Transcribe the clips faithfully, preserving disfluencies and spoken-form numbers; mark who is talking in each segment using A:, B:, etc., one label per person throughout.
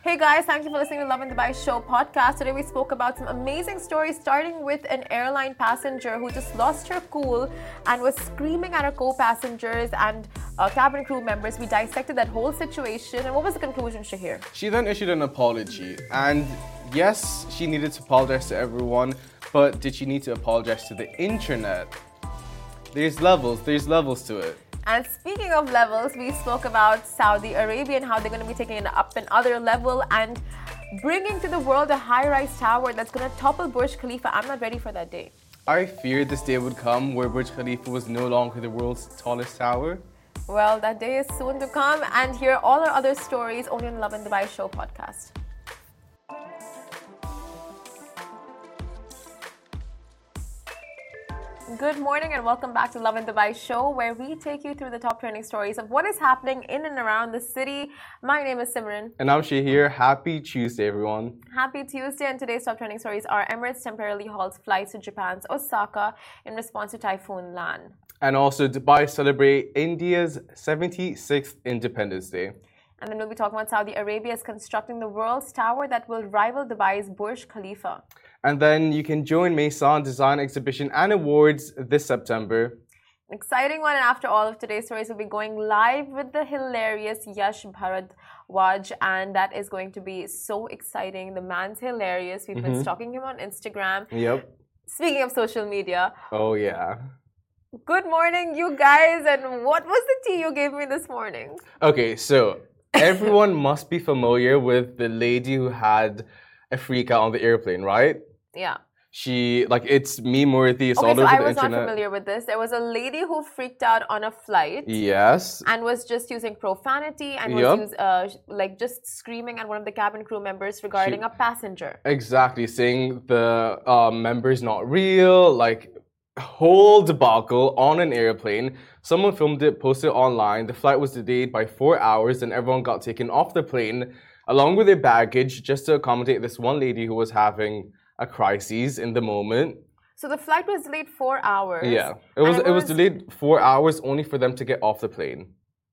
A: Hey guys, thank you for listening to Love in Dubai Show podcast. Today we spoke about some amazing stories, starting with an airline passenger who just lost her cool and was screaming at her co-passengers and uh, cabin crew members. We dissected that whole situation. And what was the conclusion, Shahir?
B: She then issued an apology. And yes, she needed to apologize to everyone, but did she need to apologize to the internet? There's levels, there's levels to it.
A: And speaking of levels, we spoke about Saudi Arabia and how they're going to be taking it up another level and bringing to the world a high-rise tower that's going to topple Burj Khalifa. I'm not ready for that day.
B: I feared this day would come where Burj Khalifa was no longer the world's tallest tower.
A: Well, that day is soon to come. And hear all our other stories only on Love in Dubai Show podcast. Good morning and welcome back to Love in Dubai Show, where we take you through the top trending stories of what is happening in and around the city. My name is Simran.
B: And I'm Shahir. Happy Tuesday, everyone.
A: Happy Tuesday, and today's top trending stories are Emirates temporarily halts flights to Japan's Osaka in response to Typhoon Lan.
B: And also Dubai celebrate India's seventy-sixth Independence Day.
A: And then we'll be talking about Saudi Arabia is constructing the world's tower that will rival Dubai's Burj Khalifa.
B: And then you can join Maison Design Exhibition and Awards this September.
A: An exciting one, and after all of today's stories, we'll be going live with the hilarious Yash Bharadwaj, and that is going to be so exciting. The man's hilarious. We've mm-hmm. been stalking him on Instagram.
B: Yep.
A: Speaking of social media.
B: Oh, yeah.
A: Good morning, you guys, and what was the tea you gave me this morning?
B: Okay, so everyone must be familiar with the lady who had a freak out on the airplane, right?
A: Yeah.
B: She, like, it's meme worthy, it's
A: okay,
B: all
A: so
B: over
A: I
B: the
A: was
B: internet.
A: not familiar with this. There was a lady who freaked out on a flight.
B: Yes.
A: And was just using profanity and
B: yep.
A: was use, uh, like just screaming at one of the cabin crew members regarding she, a passenger.
B: Exactly, saying the uh, member's not real, like, whole debacle on an airplane. Someone filmed it, posted it online. The flight was delayed by four hours and everyone got taken off the plane along with their baggage just to accommodate this one lady who was having a crisis in the moment.
A: So the flight was delayed four hours.
B: Yeah, it was it was, was delayed four hours only for them to get off the plane.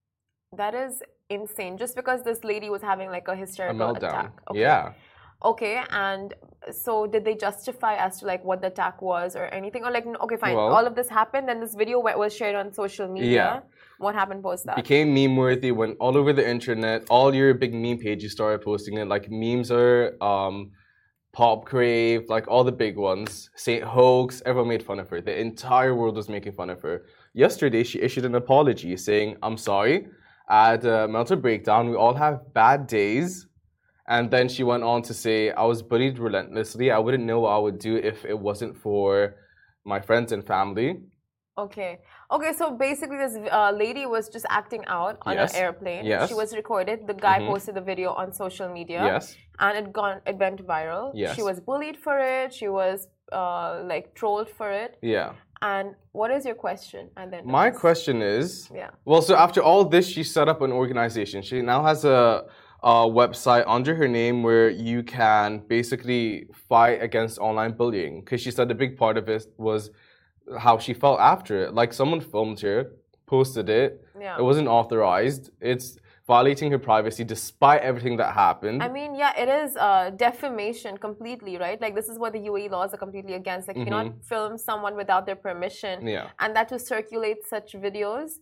A: That is insane. Just because this lady was having like a hysterical
B: a meltdown.
A: attack. Okay.
B: Yeah.
A: Okay, and so did they justify as to like what the attack was or anything? Or like, okay, fine,
B: well,
A: all of this happened, then this video was shared on social media.
B: Yeah.
A: What happened post that?
B: Became meme worthy, went all over the internet. All your big meme pages started posting it. Like memes are um, Pop Crave, like all the big ones. Saint Hoax, everyone made fun of her. The entire world was making fun of her. Yesterday, she issued an apology saying, I'm sorry, I had a mental breakdown. We all have bad days. And then she went on to say, I was bullied relentlessly. I wouldn't know what I would do if it wasn't for my friends and family.
A: Okay. Okay, so basically this uh, lady was just acting out on
B: yes.
A: an airplane.
B: Yes.
A: She was recorded. The guy
B: mm-hmm.
A: posted the video on social media.
B: Yes.
A: And it gone it went viral.
B: Yes.
A: She was bullied for it. She was uh, like trolled for it.
B: Yeah.
A: And what is your question? And then
B: my question is,
A: yeah.
B: Well, so after all this, she set up an organization. She now has a, a website under her name where you can basically fight against online bullying. Because she said the big part of it was how she felt after it. Like someone filmed her, posted it.
A: Yeah.
B: It wasn't authorized. It's violating her privacy despite everything that happened.
A: I mean, yeah, it is uh, defamation completely, right? Like this is what the U A E laws are completely against. Like you
B: mm-hmm.
A: cannot film someone without their permission.
B: Yeah.
A: And that to circulate such videos.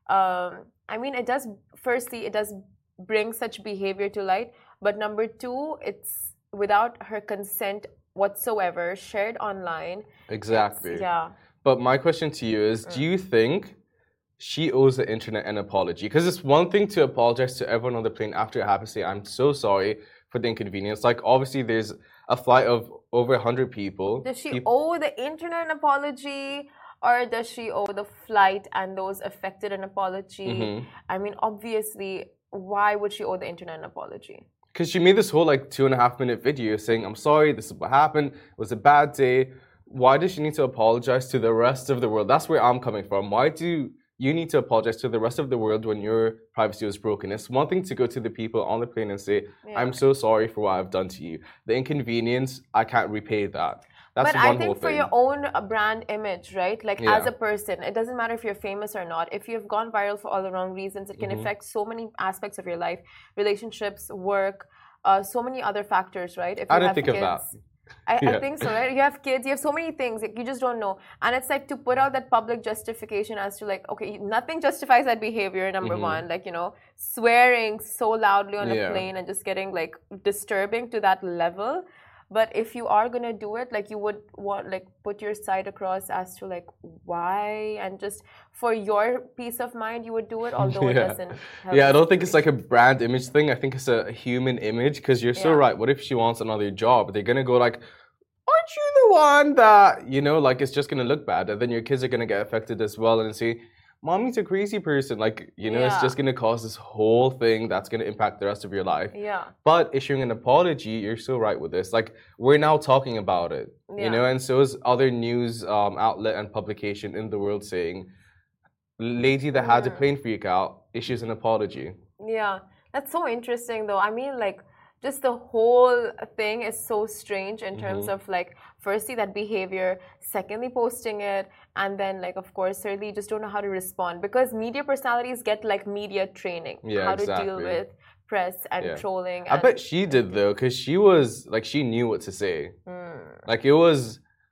A: Um, I mean, it does, firstly, it does bring such behavior to light. But number two, it's without her consent whatsoever, shared online.
B: Exactly.
A: Yeah.
B: But my question to you is, mm. do you think she owes the internet an apology? Because it's one thing to apologize to everyone on the plane after it happens, say, I'm so sorry for the inconvenience. Like, obviously, there's a flight of over one hundred people.
A: Does she
B: people...
A: owe the internet an apology? Or does she owe the flight and those affected an apology?
B: Mm-hmm.
A: I mean, obviously, why would she owe the internet an apology?
B: Because she made this whole, like, two and a half minute video saying, I'm sorry, this is what happened. It was a bad day. Why does she need to apologize to the rest of the world? That's where I'm coming from. Why do you need to apologize to the rest of the world when your privacy was broken? It's one thing to go to the people on the plane and say, yeah. I'm so sorry for what I've done to you. The inconvenience, I can't repay that. That's
A: but
B: one
A: I think
B: whole
A: for
B: thing.
A: your own brand image, right? Like
B: yeah.
A: as a person, it doesn't matter if you're famous or not. If you've gone viral for all the wrong reasons, it can
B: mm-hmm.
A: affect so many aspects of your life, relationships, work, uh, so many other factors, right? If you
B: I didn't
A: have
B: think
A: kids,
B: of that.
A: I,
B: Yeah.
A: I think so, right? You have kids, you have so many things, like, you just don't know. And it's like to put out that public justification as to like, okay, nothing justifies that behavior, number
B: Mhm.
A: one. Like, you know, swearing so loudly on a
B: Yeah.
A: plane and just getting like disturbing to that level. But if you are gonna do it, like you would want like put your side across as to like why, and just for your peace of mind, you would do it, although it
B: Yeah.
A: doesn't help
B: Yeah, I
A: the
B: don't think it's like a
A: situation.
B: brand image thing. I think it's a human image because you're so
A: Yeah.
B: right. What if she wants another job? They're gonna go like, aren't you the one that, you know, like it's just gonna look bad, and then your kids are gonna get affected as well and say, mommy's a crazy person. Like, you know, it's
A: Yeah.
B: just gonna cause this whole thing that's gonna impact the rest of your life.
A: Yeah.
B: But issuing an apology, you're so right with this. Like, we're now talking about it,
A: Yeah.
B: you know, and so is other news um, outlet and publication in the world saying, lady that had a
A: Mm.
B: plane freak out issues an apology.
A: Yeah, that's so interesting though. I mean, like, just the whole thing is so strange in terms
B: Mhm.
A: of like, firstly, that behavior, secondly, posting it, and then, like, of course, thirdly, you just don't know how to respond because media personalities get like media training,
B: Yeah,
A: how to deal
B: exactly.
A: with press and
B: Yeah.
A: trolling.
B: I
A: And,
B: bet she did though, because she was like, she knew what to say.
A: Mm.
B: Like, it was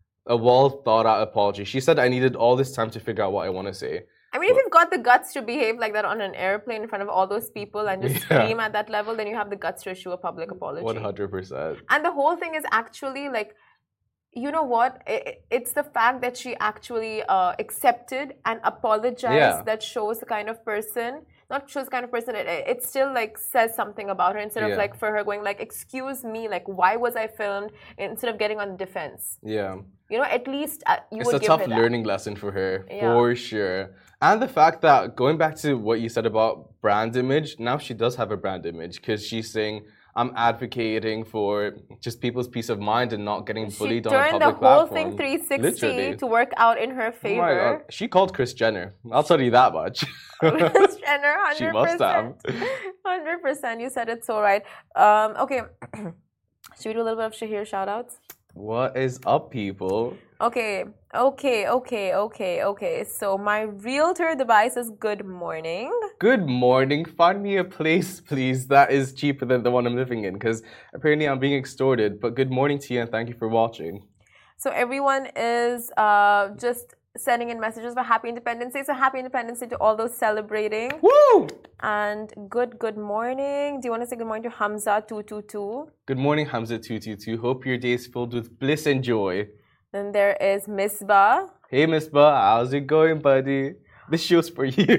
B: a well thought out apology. She said, I needed all this time to figure out what I want to say.
A: I mean, if you've got the guts to behave like that on an airplane in front of all those people and just
B: Yeah.
A: scream at that level, then you have the guts to issue a public apology.
B: one hundred percent.
A: And the whole thing is actually like, you know what? I- I- It's the fact that she actually uh, accepted and apologized
B: Yeah.
A: that shows the kind of person, not shows the kind of person, it, it still like says something about her instead of
B: Yeah.
A: like for her going like, excuse me, like why was I filmed, instead of getting on the defense.
B: Yeah.
A: You know, at least uh, you
B: It's
A: would
B: a
A: give
B: tough
A: her that.
B: learning lesson for her,
A: Yeah.
B: for sure. And the fact that, going back to what you said about brand image, now she does have a brand image because she's saying, I'm advocating for just people's peace of mind and not getting
A: She
B: bullied on a
A: turned
B: public
A: the whole
B: platform.
A: thing three sixty
B: Literally.
A: to work out in her
B: Oh my
A: favor.
B: God. She called Kris Jenner. I'll tell you that much.
A: Kris Jenner, one
B: She
A: hundred percent.
B: must have.
A: one hundred percent. You said it so right. Um, okay. Should we do a little bit of Shahir shout-outs?
B: What is up, people?
A: Okay, okay, okay, okay, okay. So my realtor device is good morning.
B: Good morning. Find me a place, please, that is cheaper than the one I'm living in, because apparently I'm being extorted. But good morning to you, and thank you for watching.
A: So everyone is uh, just sending in messages for Happy Independence Day. So Happy Independence Day to all those celebrating.
B: Woo!
A: And good, good morning. Do you want to say good morning to Hamza two two two?
B: Good morning, Hamza two two two. Hope your day is filled with bliss and joy.
A: Then there is Misbah.
B: Hey, Misbah, how's it going, buddy? This show's for you.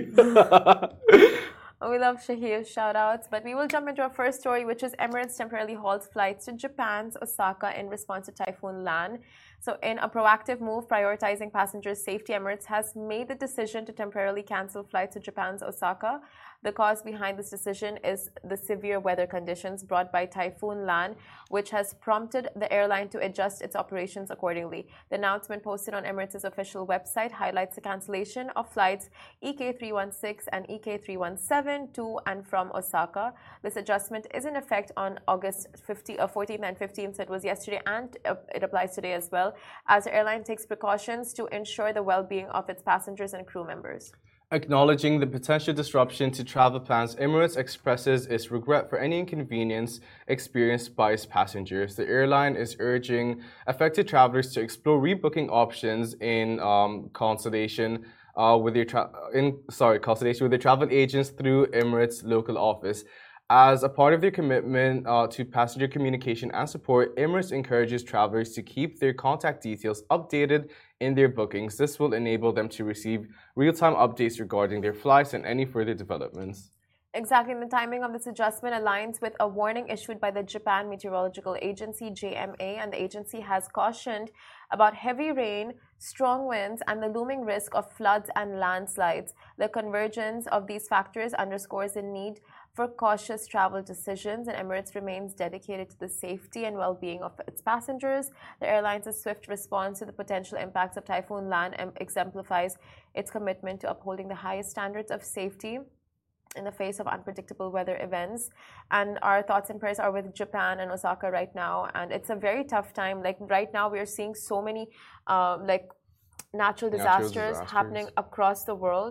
A: Oh, we love Shahir's shout-outs, but we will jump into our first story, which is Emirates temporarily halts flights to Japan's Osaka in response to Typhoon Lan. So in a proactive move prioritizing passengers' safety, Emirates has made the decision to temporarily cancel flights to Japan's Osaka. The cause behind this decision is the severe weather conditions brought by Typhoon Lan, which has prompted the airline to adjust its operations accordingly. The announcement posted on Emirates' official website highlights the cancellation of flights E K three one six and E K three one seven to and from Osaka. This adjustment is in effect on August fourteenth and fifteenth, so it was yesterday, and it applies today as well, as the airline takes precautions to ensure the well-being of its passengers and crew members.
B: Acknowledging the potential disruption to travel plans, Emirates expresses its regret for any inconvenience experienced by its passengers. The airline is urging affected travelers to explore rebooking options in um, consultation uh, with their tra- in sorry consultation with their travel agents through Emirates' local office. As a part of their commitment uh, to passenger communication and support, Emirates encourages travelers to keep their contact details updated in their bookings. This will enable them to receive real-time updates regarding their flights and any further developments.
A: Exactly, and the timing of this adjustment aligns with a warning issued by the Japan Meteorological Agency, J M A, and the agency has cautioned about heavy rain, strong winds, and the looming risk of floods and landslides. The convergence of these factors underscores the need for cautious travel decisions, and Emirates remains dedicated to the safety and well-being of its passengers. The airline's swift response to the potential impacts of Typhoon Lan exemplifies its commitment to upholding the highest standards of safety in the face of unpredictable weather events. And our thoughts and prayers are with Japan and Osaka right now, and it's a very tough time. Like right now we are seeing so many uh, like natural disasters,
B: natural disasters
A: happening across the world,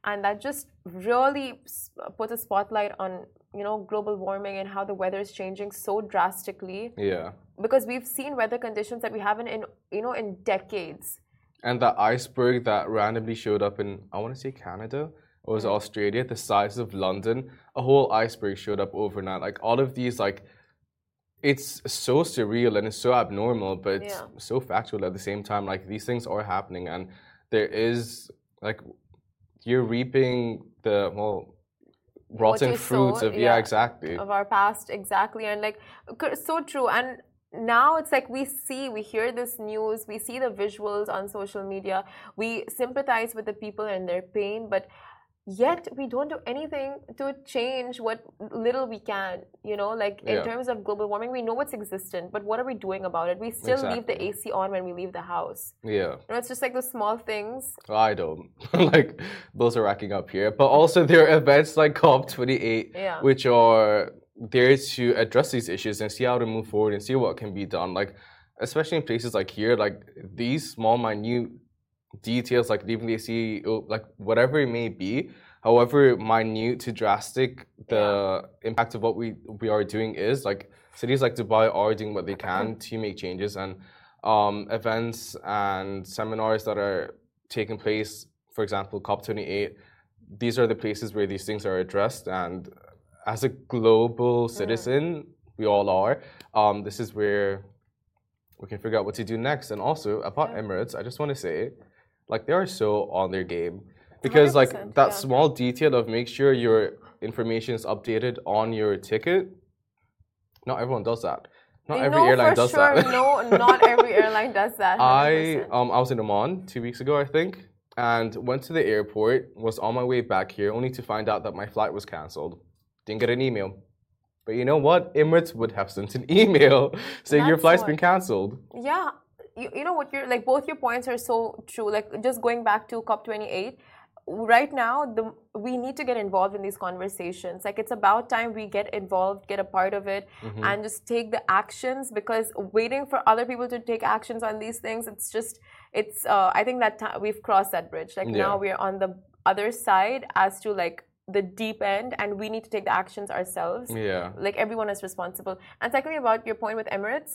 A: and that just really puts a spotlight on, you know, global warming and how the weather is changing so drastically.
B: Yeah.
A: Because we've seen weather conditions that we haven't in, you know, in decades.
B: And that iceberg that randomly showed up in, I want to say Canada, or was it Australia, the size of London, a whole iceberg showed up overnight. Like all of these, like, it's so surreal and it's so abnormal, but it's
A: Yeah.
B: so factual at the same time. Like these things are happening, and there is like you're reaping the well rotten
A: you
B: fruits
A: sow,
B: of yeah, exactly.
A: of our past, exactly. And like c- so true. And now it's like we see, we hear this news, we see the visuals on social media, we sympathize with the people and their pain, but yet we don't do anything to change what little we can, you know, like in
B: Yeah.
A: terms of global warming. We know it's existent, but what are we doing about it? We still leave the A
B: Exactly.
A: C on when we leave the house.
B: Yeah.
A: You know, it's just like the small things.
B: I don't. Like, those are racking up here. But also, there are events like COP twenty-eight,
A: Yeah.
B: which are there to address these issues and see how to move forward and see what can be done. Like, especially in places like here, like these small, minute details, like leaving the A C, like whatever it may be, however minute to drastic the impact of what we, we are doing is, like cities like Dubai are doing what they can to make changes, and um, events and seminars that are taking place, for example, COP twenty-eight, these are the places where these things are addressed. And as a global citizen, we all are, um, this is where we can figure out what to do next. And also, about
A: Yeah.
B: Emirates, I just want to say, like, they are so on their game. Because, like,
A: one hundred percent,
B: that
A: yeah.
B: small detail of make sure your information is updated on your ticket, not everyone does that. Not every
A: no,
B: airline
A: for
B: does
A: sure,
B: that.
A: no, not every airline does that. one hundred
B: I
A: percent.
B: um I was in Oman two weeks ago, I think, and went to the airport, was on my way back here, only to find out that my flight was cancelled. Didn't get an email. But you know what? Emirates would have sent an email saying your
A: That's
B: flight's
A: what-
B: been cancelled.
A: Yeah, you, you know what, you're like, both your points are so true. Like, just going back to COP twenty-eight, right now the we need to get involved in these conversations. Like, it's about time we get involved, get a part of it, and just take the actions, because waiting for other people to take actions on these things, it's just it's uh, I think that ti- we've crossed that bridge. Like,
B: Yeah.
A: now we're on the other side as to like the deep end, and we need to take the actions ourselves.
B: Yeah.
A: Like, everyone is responsible. And secondly, about your point with Emirates,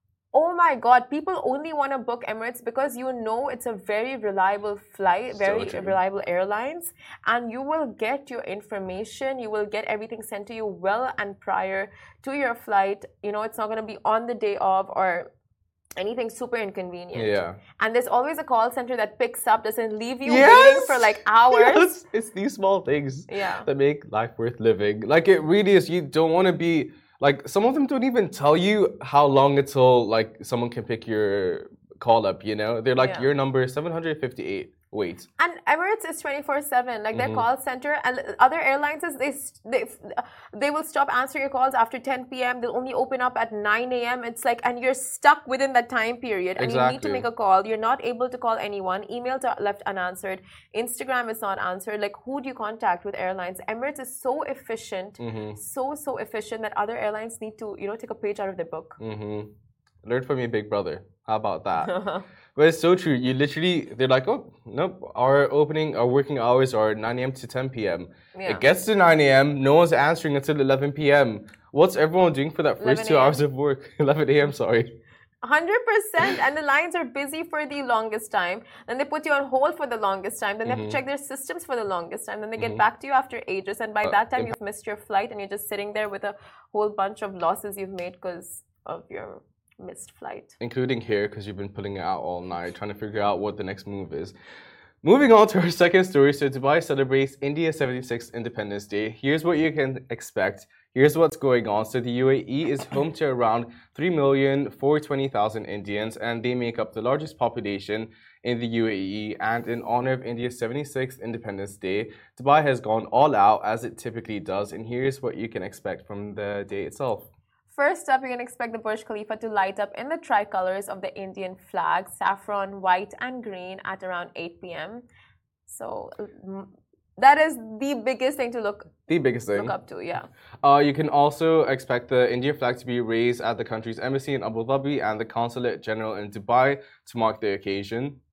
A: oh my God, people only want to book Emirates because you know it's a very reliable flight, very
B: So true.
A: reliable airlines, and you will get your information, you will get everything sent to you well and prior to your flight. You know, it's not going to be on the day of or anything super inconvenient.
B: Yeah.
A: And there's always a call center that picks up, doesn't leave you
B: Yes!
A: waiting for like hours.
B: Yes! It's these small things
A: Yeah.
B: that make life worth living. Like, it really is. You don't want to be like, some of them don't even tell you how long until like someone can pick your call up, you know? They're like,
A: Yeah.
B: your number is seven hundred fifty-eight. Wait.
A: And Emirates is twenty-four seven, like their call center, and other airlines is they they they will stop answering your calls after ten p m. They'll only open up at nine a m. It's like, and you're stuck within that time period, and you need to
B: Exactly.
A: make a call. You're not able to call anyone. Emails are left unanswered. Instagram is not answered. Like, who do you contact with airlines? Emirates is so efficient, so so efficient that other airlines need to, you know, take a page out of their book.
B: Mm-hmm. Learn from your big brother. How about that? But it's so true. You literally, they're like, oh, nope, our opening, our working hours are nine a m to ten p m
A: Yeah.
B: It gets to nine a m, no one's answering until eleven p m What's everyone doing for that first two
A: eleven a m
B: hours of work? eleven a m, sorry.
A: one hundred percent, and the lines are busy for the longest time. Then they put you on hold for the longest time. Then they have to check their systems for the longest time. Then they get back to you after ages. And by that time, you've missed your flight and you're just sitting there with a whole bunch of losses you've made because of your missed flight.
B: Including here, because you've been pulling it out all night, trying to figure out what the next move is. Moving on to our second story. So Dubai celebrates India's seventy-sixth Independence Day. Here's what you can expect. Here's what's going on. So the U A E is home to around three million four hundred twenty thousand Indians, and they make up the largest population in the U A E. And in honor of India's seventy-sixth Independence Day, Dubai has gone all out, as it typically does. And here's what you can expect from the day itself.
A: First up, you can expect the Burj Khalifa to light up in the tricolors of the Indian flag, saffron, white, and green at around eight p m So mm, that is the biggest thing to look
B: The biggest thing.
A: look up to, yeah.
B: Uh, you can also expect the Indian flag to be raised at the country's embassy in Abu Dhabi and the consulate general in Dubai to mark the occasion.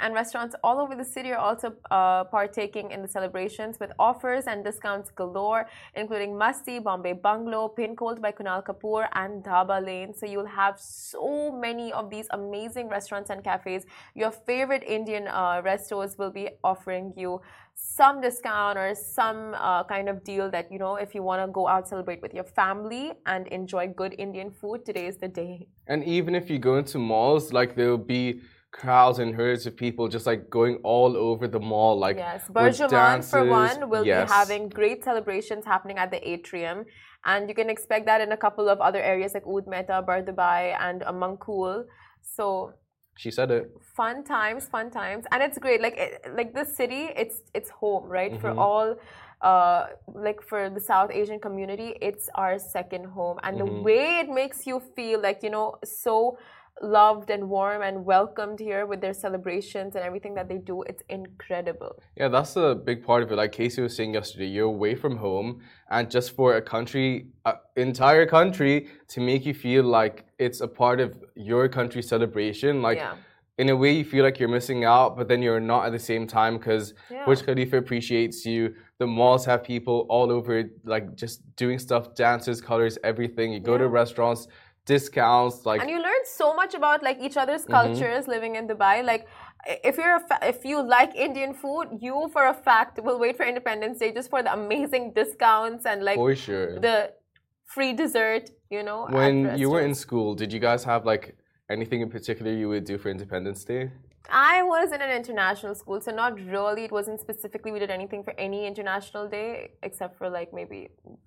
A: And restaurants all over the city are also uh, partaking in the celebrations with offers and discounts galore, including Masti, Bombay Bungalow, Pin Cold by Kunal Kapoor, and Dhaba Lane. So you'll have so many of these amazing restaurants and cafes. Your favorite Indian uh, restos will be offering you some discount or some uh, kind of deal that, you know, if you want to go out, celebrate with your family and enjoy good Indian food, today is the day.
B: And even if you go into malls, like there'll be crowds and herds of people just like going all over the mall. Like,
A: yes, Burjuman for one will
B: yes.
A: be having great celebrations happening at the atrium. And you can expect that in a couple of other areas like Oud Mehta, Bardubai, and uh, Mankul. So
B: she said it.
A: Fun times, fun times, and it's great. Like, it, like this city, it's it's home, right? Mm-hmm. For all, uh, like for the South Asian community, it's our second home, and mm-hmm. the way it makes you feel, like, you know, so loved and warm and welcomed here with their celebrations and everything that they do, it's incredible.
B: Yeah, that's a big part of it. Like Casey was saying yesterday, you're away from home, and just for a country, uh, entire country, to make you feel like it's a part of your country's celebration, like yeah. in a way you feel like you're missing out, but then you're not at the same time, because yeah. Burj Khalifa appreciates you. The malls have people all over, like just doing stuff, dances, colors, everything. You go yeah. to restaurants, discounts, like,
A: and you learn so much about like each other's cultures mm-hmm. living in Dubai. Like, if you're a fa- if you like Indian food, you for a fact will wait for Independence Day just for the amazing discounts and like
B: for sure
A: the free dessert. You know,
B: when you were in school, did you guys have like anything in particular you would do for Independence Day?
A: I was in an international school, so not really. It wasn't specifically we did anything for any international day except for like maybe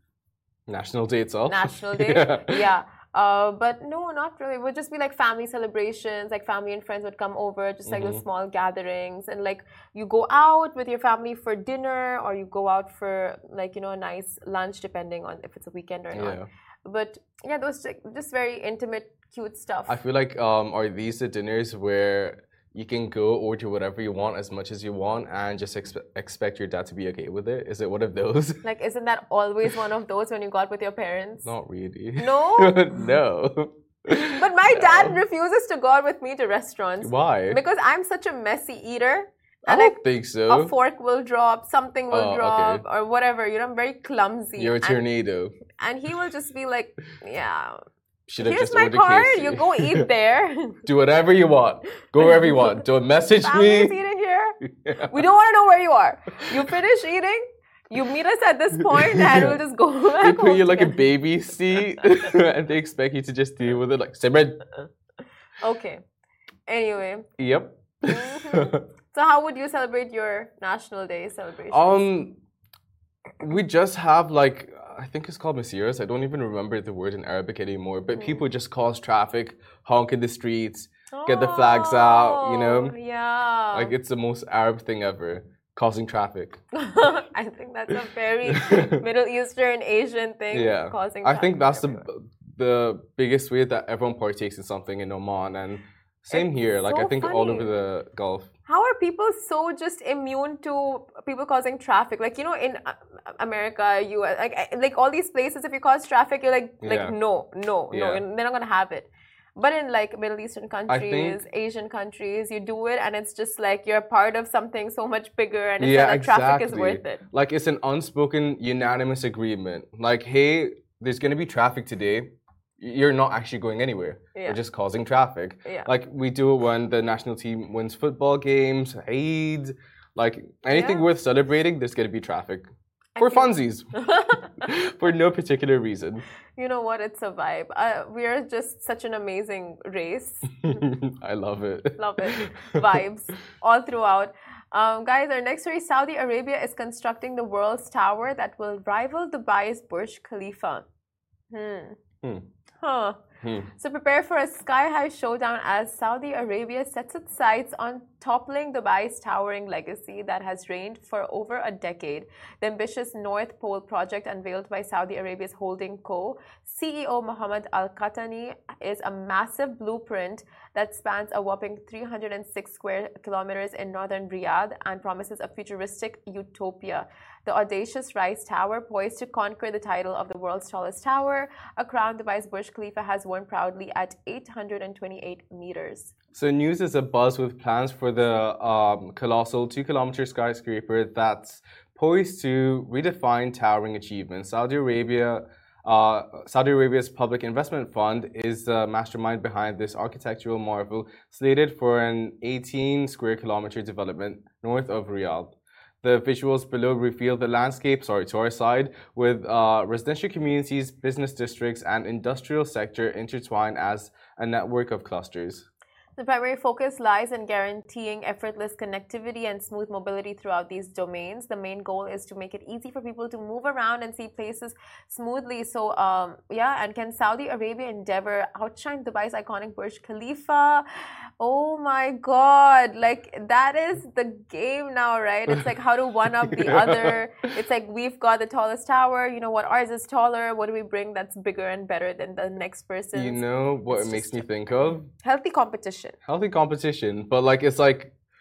B: National Day itself.
A: National Day, yeah. yeah. Uh, but no, not really. It would just be like family celebrations, like family and friends would come over, just like mm-hmm. those small gatherings. And like you go out with your family for dinner, or you go out for like, you know, a nice lunch, depending on if it's a weekend or
B: yeah.
A: not. But yeah, those like, just very intimate, cute stuff.
B: I feel like, um, are these the dinners where you can go order whatever you want as much as you want and just expe- expect your dad to be okay with it? Is it one of those?
A: Like, isn't that always one of those when you got with your parents?
B: Not really.
A: No?
B: No.
A: But my dad no. refuses to go out with me to restaurants.
B: Why?
A: Because I'm such a messy eater.
B: And I don't like, think so.
A: A fork will drop, something will
B: oh,
A: drop,
B: okay.
A: or whatever. You know, I'm very clumsy.
B: You're a tornado.
A: And, and he will just be like, yeah.
B: Should have
A: Here's
B: just
A: my card.
B: Casey.
A: You go eat there.
B: Do whatever you want. Go wherever you want. Don't message
A: Family's
B: me.
A: eating here. Yeah. We don't want to know where you are. You finish eating. You meet us at this point, and yeah. we'll just go back.
B: They put you like a baby seat, and they expect you to just deal with it like Simran.
A: Okay. Anyway.
B: Yep.
A: Mm-hmm. So, how would you celebrate your National Day celebration?
B: Um, we just have like. I think it's called Masiras. I don't even remember the word in Arabic anymore. But mm. people just cause traffic, honk in the streets, oh, get the flags out, you know?
A: Yeah.
B: Like, it's the most Arab thing ever, causing traffic.
A: I think that's a very Middle Eastern Asian thing,
B: yeah.
A: causing traffic.
B: I think that's the, the biggest way that everyone partakes in something in Oman. And same
A: it's
B: here. Like,
A: so
B: I think
A: funny.
B: all over the Gulf.
A: How are people so just immune to people causing traffic? Like, you know, in America, you like like all these places, if you cause traffic, you're like, like
B: yeah.
A: no, no,
B: yeah.
A: no, they're not gonna have it. But in like Middle Eastern countries,
B: think,
A: Asian countries, you do it, and it's just like you're part of something so much bigger, and it's
B: yeah,
A: that
B: exactly.
A: traffic is worth it.
B: Like, it's an unspoken, unanimous agreement. Like, hey, there's gonna be traffic today. You're not actually going anywhere. Yeah. You're just causing traffic.
A: Yeah.
B: Like, we do it when the national team wins football games, Eid, like anything yeah. worth celebrating, there's going to be traffic. For funsies. For no particular reason.
A: You know what? It's a vibe. Uh, we are just such an amazing race.
B: I love it.
A: Love it. Vibes all throughout. Um, guys, our next story, Saudi Arabia is constructing the world's tower that will rival Dubai's Burj Khalifa. Hmm.
B: Hmm.
A: Huh.
B: Hmm.
A: So prepare for a sky-high showdown as Saudi Arabia sets its sights on toppling Dubai's towering legacy that has reigned for over a decade. The ambitious North Pole project unveiled by Saudi Arabia's holding co. C E O Mohammed Al Qahtani is a massive blueprint that spans a whopping three hundred six square kilometers in northern Riyadh and promises a futuristic utopia. The audacious Rise Tower, poised to conquer the title of the world's tallest tower, a crown Dubai's Burj Khalifa has born proudly at eight hundred twenty-eight meters.
B: So news is abuzz with plans for the um, colossal two-kilometer skyscraper that's poised to redefine towering achievements. Saudi Arabia, uh, Saudi Arabia's Public Investment Fund is the mastermind behind this architectural marvel, slated for an eighteen square kilometer development north of Riyadh. The visuals below reveal the landscape, sorry, to our side, with uh, residential communities, business districts, and industrial sector intertwined as a network of clusters.
A: The primary focus lies in guaranteeing effortless connectivity and smooth mobility throughout these domains. The main goal is to make it easy for people to move around and see places smoothly. So, um, yeah, and can Saudi Arabia endeavor outshine Dubai's iconic Burj Khalifa? Oh my God, like that is the game now, right? It's like how to one up the other. It's like we've got the tallest tower, you know what, ours is taller. What do we bring that's bigger and better than the next person?
B: You know what it's it makes me think of?
A: Healthy competition.
B: Healthy competition, but like it's like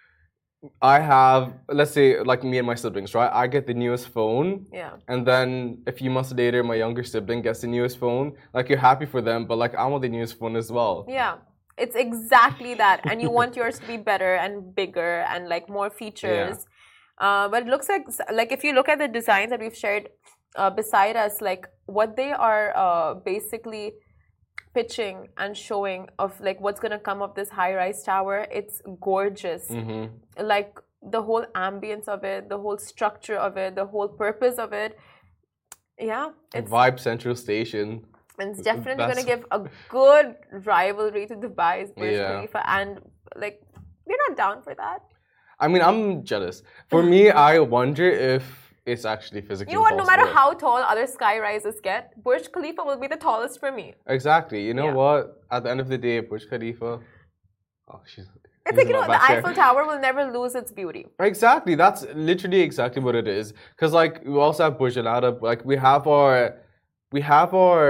B: I have, let's say, like me and my siblings, right? I get the newest phone,
A: yeah,
B: and then a few months later, my younger sibling gets the newest phone. Like you're happy for them, but like I want the newest phone as well.
A: Yeah, it's exactly that, and you want yours to be better and bigger and like more features. Yeah. Uh, but it looks like like if you look at the designs that we've shared uh, beside us, like what they are uh, basically pitching and showing of like what's gonna come of this high-rise tower, it's gorgeous.
B: Mm-hmm.
A: Like the whole ambience of it, the whole structure of it, the whole purpose of it. Yeah,
B: it's Vibe Central Station.
A: And it's definitely That's... gonna give a good rivalry to Dubai's Burj
B: yeah.
A: Khalifa, and like we're not down for that.
B: I mean, I'm jealous. For me, I wonder if it's actually physically
A: You know what?
B: possible.
A: No matter how tall other sky rises get, Burj Khalifa will be the tallest for me.
B: Exactly. You know yeah. what? At the end of the day, Burj Khalifa. Oh, she's.
A: It's like, you know, the Eiffel Tower will never lose its beauty.
B: Exactly. That's literally exactly what it is. Because, like, we also have Burj Al Arab. Like, we have our. We have our.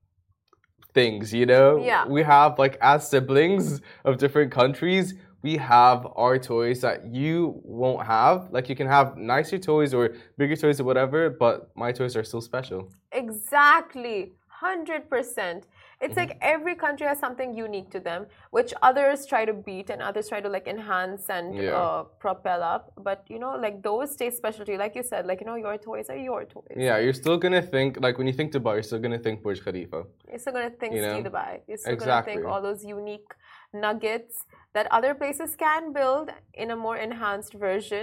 B: Things, you know?
A: Yeah.
B: We have, like, as siblings of different countries, we have our toys that you won't have. Like, you can have nicer toys or bigger toys or whatever, but my toys are still special.
A: Exactly. one hundred percent. It's mm-hmm. like every country has something unique to them, which others try to beat and others try to, like, enhance and
B: yeah.
A: uh, propel up. But, you know, like, those stay special to you. Like you said, like, you know, your toys are your toys.
B: Yeah, you're still going to think, like, when you think Dubai, you're still going to think Burj Khalifa.
A: You're still going to think
B: you know?
A: Ski Dubai. You're still
B: exactly.
A: going to think all those unique nuggets that other places can build in a more enhanced version.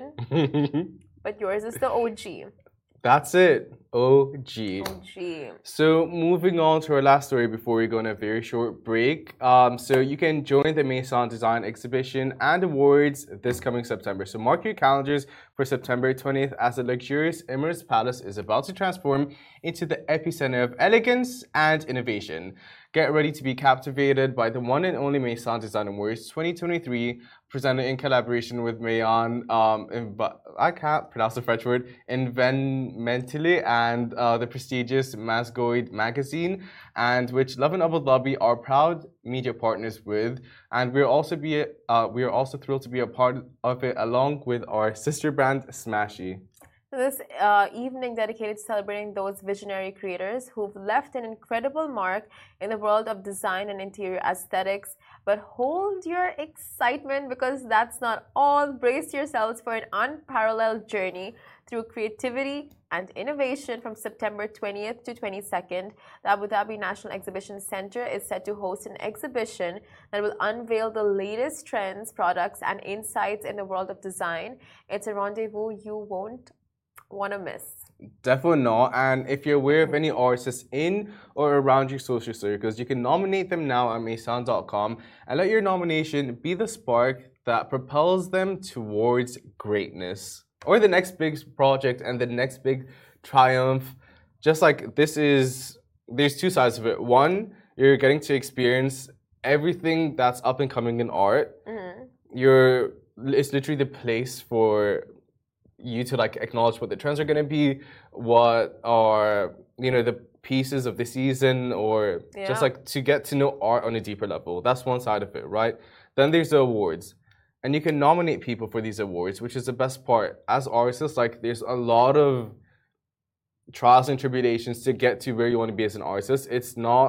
A: But yours is the O G.
B: That's it. O G.
A: O G.
B: So moving on to our last story before we go on a very short break. Um, so you can join the Maison Design Exhibition and Awards this coming September. So mark your calendars for September twentieth as the luxurious Emirates Palace is about to transform into the epicenter of elegance and innovation. Get ready to be captivated by the one and only Maison Design Awards twenty twenty-three, presented in collaboration with Mayon, um, I can't pronounce the French word, Environmentally, and uh, the prestigious Masgoid magazine, and which Love and Abu Dhabi are proud media partners with. And we're also be uh, we are also thrilled to be a part of it along with our sister brand Smashy.
A: This uh, evening dedicated to celebrating those visionary creators who've left an incredible mark in the world of design and interior aesthetics. But hold your excitement, because that's not all. Brace yourselves for an unparalleled journey through creativity and innovation from September twentieth to twenty-second. The Abu Dhabi National Exhibition Center is set to host an exhibition that will unveil the latest trends, products, and insights in the world of design. It's a rendezvous you won't want to miss.
B: Definitely not. And if you're aware of any artists in or around your social circles, you can nominate them now at maison dot com and let your nomination be the spark that propels them towards greatness or the next big project and the next big triumph. Just like this is, there's two sides of it. One, you're getting to experience everything that's up and coming in art. Mm-hmm. You're, it's literally the place for you to like acknowledge what the trends are going to be, what are, you know, the pieces of the season, or yeah. just like to get to know art on a deeper level. That's one side of it, right? Then there's the awards, and you can nominate people for these awards, which is the best part. As artists, like there's a lot of trials and tribulations to get to where you want to be as an artist. It's not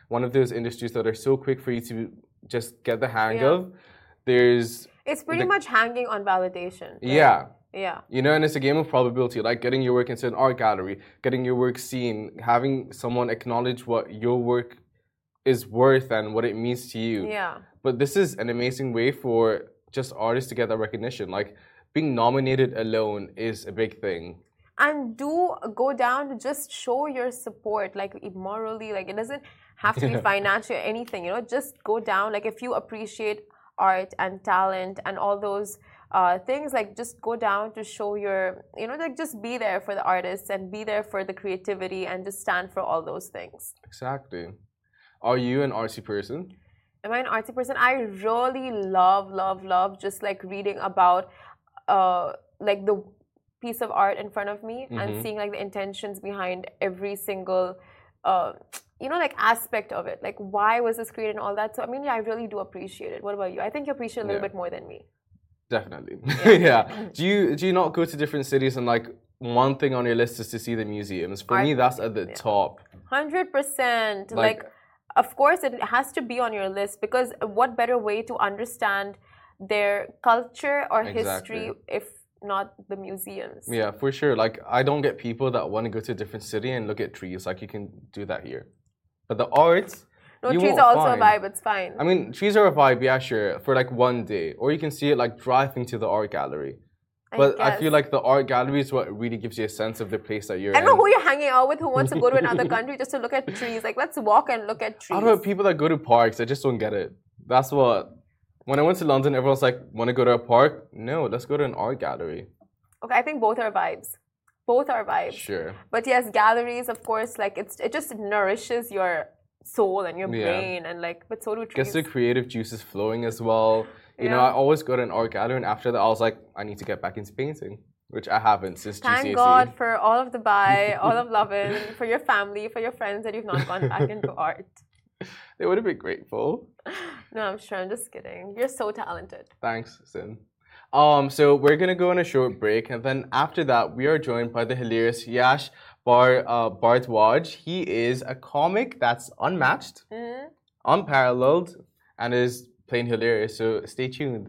B: one of those industries that are so quick for you to just get the hang
A: Yeah.
B: of. There's
A: It's pretty
B: the-
A: much hanging on validation. right?
B: yeah.
A: Yeah.
B: You know, and it's a game of probability, like getting your work into an art gallery, getting your work seen, having someone acknowledge what your work is worth and what it means to you.
A: Yeah.
B: But this is an amazing way for just artists to get that recognition. Like being nominated alone is a big thing.
A: And do go down to just show your support, like morally, like it doesn't have to be financial or anything, you know, just go down. Like if you appreciate art and talent and all those uh, things, like just go down to show your, you know, like just be there for the artists and be there for the creativity and just stand for all those things.
B: Exactly. Are you an artsy person?
A: Am I an artsy person? I really love, love, love just like reading about uh, like the piece of art in front of me and
B: Mhm.
A: seeing like the intentions behind every single uh, you know, like aspect of it, like why was this created and all that. So I mean, yeah, I really do appreciate it. What about you? I think you appreciate it a little
B: Yeah.
A: bit more than me.
B: Definitely. Yeah. Do you do you not go to different cities and like one thing on your list is to see the museums? For
A: Art
B: me, that's at the
A: museum, yeah.
B: top.
A: Hundred percent.
B: Like-
A: Like, of course, it has to be on your list because what better way to understand their culture or
B: Exactly.
A: history if not the museums?
B: Yeah, for sure. Like I don't get people that want to go to a different city and look at trees. Like you can do that here. But the arts,
A: No,
B: you
A: trees
B: won't
A: are also
B: find.
A: a vibe. It's fine.
B: I mean, trees are a vibe, yeah, sure, for like one day. Or you can see it like driving to the art gallery. But I, feel
A: guess.
B: like the art gallery is what really gives you a sense of the place that you're
A: I don't know
B: in.
A: who you're hanging out with who wants to go to another country just to look at trees. Like, let's walk and look at
B: I
A: trees.
B: don't know, people that go to parks, I just don't get it. That's what. When I went to London, everyone's like, want to go to a park? No, let's go to an art gallery.
A: Okay, I think both are vibes. Both are vibes.
B: Sure.
A: But yes, galleries, of course, like it's it just nourishes your soul and your
B: Yeah.
A: brain, and like, but so do trees.
B: Gets the creative juices flowing as well. You know,
A: Yeah.
B: I always go to an art gallery, and after that, I was like, I need to get back into painting, which I haven't since
A: Thank
B: G C S E.
A: God for all of Dubai, all of Lovin, for your family, for your friends that you've not gone back into art.
B: They would have been grateful.
A: No, I'm sure. I'm just kidding. You're so talented.
B: Thanks, Sin. Um, so we're gonna go on a short break, and then after that, we are joined by the hilarious Yash Bar uh, Bardwaj. He is a comic that's unmatched,
A: Mhm.
B: unparalleled, and is plain hilarious. So stay tuned.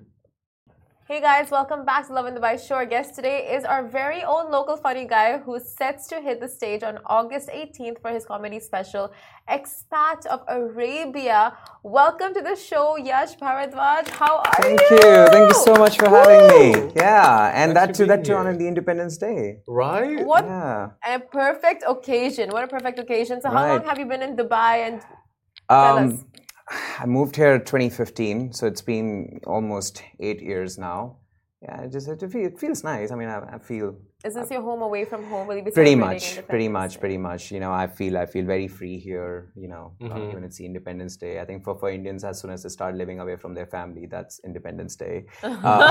A: Hey guys, welcome back to Lovin Dubai Show. Our guest today is our very own local funny guy who's set to hit the stage on August eighteenth for his comedy special, Expat of Arabia. Welcome to the show, Yash Bharadwaj. How are
C: Thank
A: you?
C: you. Thank you so much for having me. Yeah, and
B: Thanks
C: that
B: for
C: too, that
B: being
C: too on
B: here.
C: the Independence Day.
B: Right?
A: What
C: Yeah.
A: a perfect occasion. What a perfect occasion. So how
C: Right.
A: long have you been in Dubai? And tell
C: Um,
A: us.
C: I moved here twenty fifteen, so it's been almost eight years now. Yeah, it just it, feel, it feels nice. I mean, I, I feel
A: Is this your home away from home? Will you be
C: pretty
A: celebrating
C: much,
A: Independence
C: pretty much,
A: Day?
C: pretty much. You know, I feel I feel very free here. You know, uh,
B: Mhm.
C: when it's the Independence Day, I think for for Indians, as soon as they start living away from their family, that's Independence Day. Uh,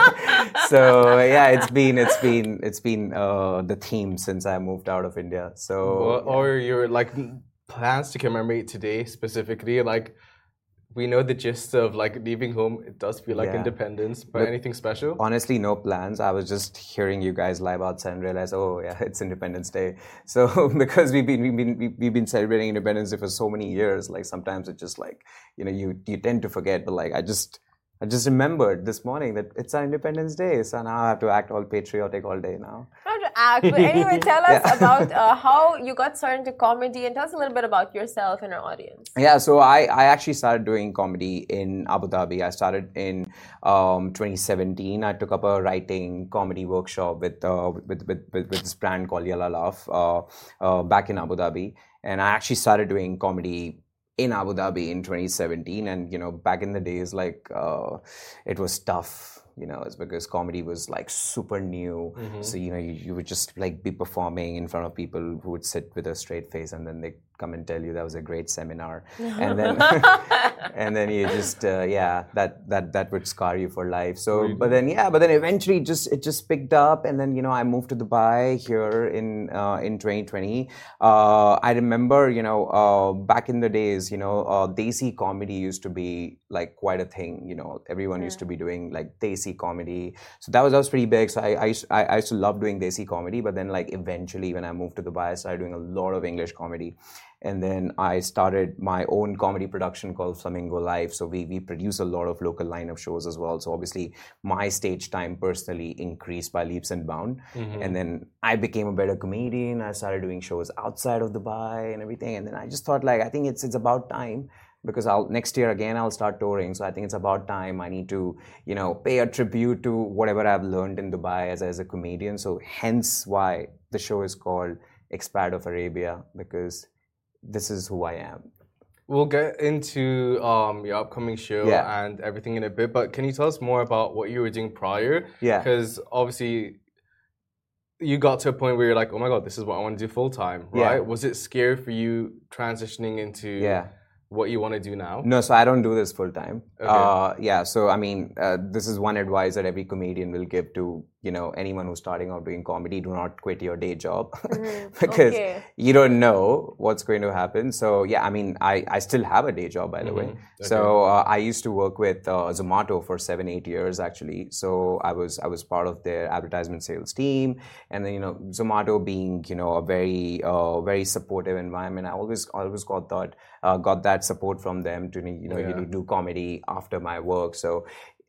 C: so yeah, it's been it's been it's been uh, the theme since I moved out of India. So
B: What
C: yeah.
B: are your like plans to commemorate today specifically? Like, we know the gist of like leaving home. It does feel like
C: Yeah.
B: independence, but
C: Look,
B: anything special?
C: Honestly, no plans. I was just hearing you guys live outside and realized, oh yeah, it's Independence Day. So because we've been we've been we've been celebrating Independence Day for so many years, like sometimes it's just like, you know, you you tend to forget. But like I just I just remembered this morning that it's our Independence Day, so now I have to act all patriotic all day now.
A: Not to act, but anyway, tell us
C: Yeah.
A: about uh, how you got started into comedy, and tell us a little bit about yourself and our audience.
C: Yeah, so I, I actually started doing comedy in Abu Dhabi. I started in um, twenty seventeen. I took up a writing comedy workshop with uh, with, with, with with this brand called Yalla Laugh uh, uh, back in Abu Dhabi, and I actually started doing comedy in Abu Dhabi in twenty seventeen. And you know, back in the days, like uh, it was tough. You know, it's because comedy was like super new.
B: Mhm.
C: So you know, you, you would just like be performing in front of people who would sit with a straight face, and then they come and tell you that was a great seminar, and then and then you just uh, yeah, that that that would scar you for life. So,
B: Really?
C: but then yeah, but then eventually just it just picked up, and then you know I moved to Dubai here in uh, in twenty twenty. Uh, I remember you know uh, back in the days, you know, uh, Desi comedy used to be like quite a thing. You know, everyone used to be doing like Desi comedy, so that was that was pretty big. So I I used, I, I used to love doing Desi comedy, but then like eventually when I moved to Dubai, I started doing a lot of English comedy. And then I started my own comedy production called Flamingo Live. So we, we produce a lot of local lineup shows as well. So obviously my stage time personally increased by leaps and bounds. Mm-hmm. And then I became a better comedian. I started doing shows outside of Dubai and everything. And then I just thought like, I think it's it's about time. Because I'll next year again I'll start touring, so I think it's about time. I need to, you know, pay a tribute to whatever I've learned in Dubai as as a comedian. So hence why the show is called Expat of Arabia, because this is who I am.
B: We'll get into um, your upcoming show
C: yeah.
B: and everything in a bit, but can you tell us more about what you were doing prior?
C: Yeah.
B: Because obviously you got to a point where you're like, oh my god, this is what I want to do full time, right? Yeah. Was it scary for you transitioning into?
C: Yeah.
B: What you want to do now?
C: No, so I don't do this full time.
B: Okay.
C: Uh, yeah, so I mean, uh, this is one advice that every comedian will give to, you know, anyone who's starting out doing comedy: do not quit your day job mm-hmm. because okay. you don't know what's going to happen. So yeah, I mean, I, I still have a day job, by the mm-hmm. way. Okay. So uh, I used to work with uh, Zomato for seven, eight years actually. So I was I was part of their advertisement sales team, and then you know, Zomato being you know a very uh, very supportive environment, I always always got that uh, got that support from them to you know yeah. you know, do comedy after my work. So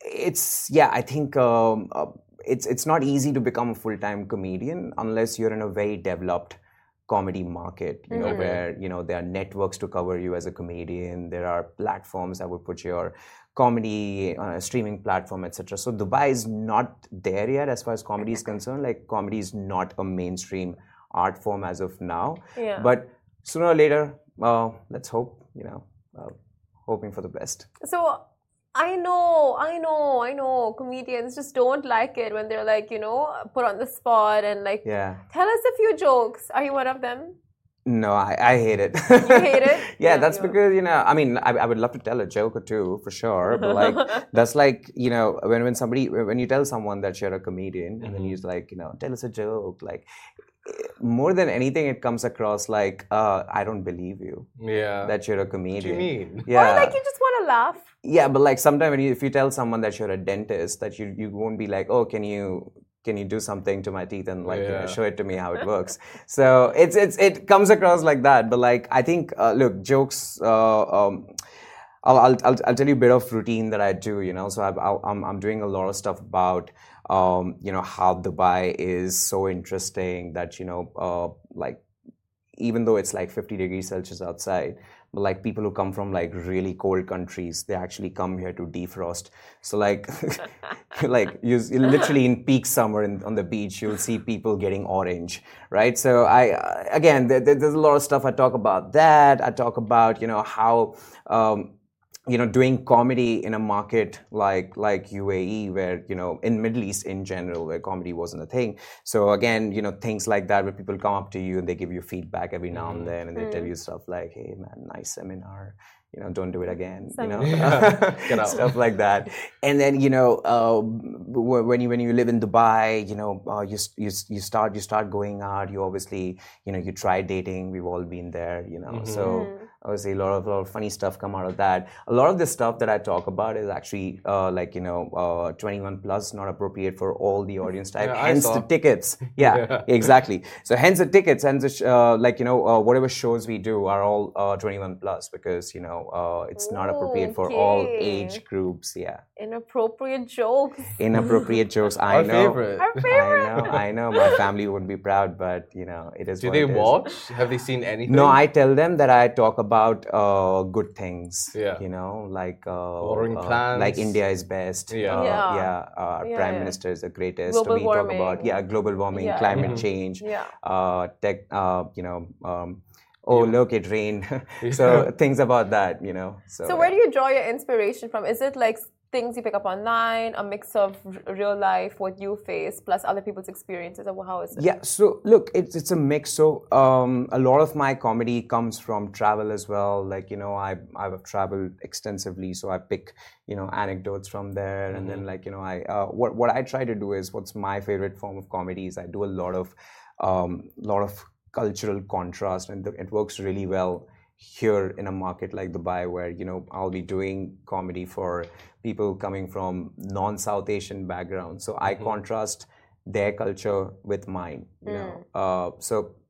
C: it's yeah I think um, uh, it's it's not easy to become a full-time comedian unless you're in a very developed comedy market, you know, mm-hmm. where you know there are networks to cover you as a comedian, there are platforms that would put your comedy on a streaming platform, etc. So Dubai is not there yet as far as comedy is concerned. Like comedy is not a mainstream art form as of now,
A: yeah.
C: but sooner or later uh, let's hope, you know, uh, hoping for the best.
A: So I know, I know, I know comedians just don't like it when they're like, you know, put on the spot and like,
C: yeah.
A: tell us a few jokes. Are you one of them?
C: No, I, I hate it.
A: You hate it?
C: yeah, yeah, that's yeah. because, you know, I mean, I, I would love to tell a joke or two for sure, but like, that's like, you know, when, when somebody, when you tell someone that you're a comedian mm-hmm. and then he's like, you know, tell us a joke, like, more than anything, it comes across like, uh, I don't believe you.
B: Yeah.
C: That you're a comedian.
B: What do you mean?
C: Yeah.
A: Or like you just want to laugh.
C: Yeah, but like sometimes when you, if you tell someone that you're a dentist, that you, you won't be like, oh, can you can you do something to my teeth and like yeah. you know, show it to me how it works. So it's it's it comes across like that. But like I think, uh, look, jokes. Uh, um, I'll, I'll I'll I'll tell you a bit of routine that I do. You know, so I've, I'll, I'm I'm doing a lot of stuff about. Um, you know, how Dubai is so interesting that, you know, uh, like, even though it's like fifty degrees Celsius outside, but like people who come from like really cold countries, they actually come here to defrost. So like, like you literally in peak summer in, on the beach, you'll see people getting orange, right? So I, uh, again, there, there's a lot of stuff I talk about that. I talk about, you know, how, um, you know, doing comedy in a market like like U A E, where, you know, in Middle East in general, where comedy wasn't a thing. So again, you know, things like that, where people come up to you and they give you feedback every now and then, and they mm. tell you stuff like, hey man, nice seminar, you know, don't do it again, you know, yeah. stuff like that. And then, you know, uh, when you when you live in Dubai, you know, uh, you, you you start you start going out. You obviously, you know, you try dating. We've all been there, you know. Mm-hmm. So obviously, a lot of a lot of funny stuff come out of that. A lot of the stuff that I talk about is actually uh, like, you know, uh, twenty-one plus, not appropriate for all the audience type. Yeah, hence the tickets. Yeah, yeah, exactly. So hence the tickets, hence the sh- uh, like, you know, uh, whatever shows we do are all uh, twenty-one plus, because, you know, uh, it's not appropriate for
A: okay.
C: all age groups. Yeah.
A: Inappropriate jokes.
C: Inappropriate jokes. I
B: Our
C: know.
B: Favorite.
A: Our favorite.
C: I know. I know. My family wouldn't be proud, but you know, it is.
B: Do
C: what
B: they
C: it
B: watch?
C: Is.
B: Have they seen anything?
C: No, I tell them that I talk about uh, good things.
B: Yeah.
C: You know, like uh,
B: Watering
C: uh,
B: plants.
C: like India is best.
B: Yeah.
C: Uh,
A: yeah.
C: yeah. Uh, our
A: yeah,
C: prime
A: yeah.
C: minister is the greatest.
A: Global
C: we
A: warming.
C: talk about yeah, global warming,
A: yeah.
C: climate
B: Mm-hmm.
C: change.
A: Yeah.
C: Uh, tech. Uh, you know. Um, oh,
B: yeah.
C: look, it rained. So things about that. You know. So,
A: so where do you draw your inspiration from? Is it like things you pick up online, a mix of r- real life, what you face, plus other people's experiences, or how is it?
C: Yeah, so look, it's it's a mix. So um, a lot of my comedy comes from travel as well. Like, you know, I I've traveled extensively, so I pick, you know, anecdotes from there, mm-hmm. and then like, you know, I uh, what what I try to do is, what's my favorite form of comedy is I do a lot of um, lot of cultural contrast, and th- it works really well here in a market like Dubai, where, you know, I'll be doing comedy for people coming from non-South Asian backgrounds. So I mm-hmm. contrast their culture with mine, you mm. know. Uh, so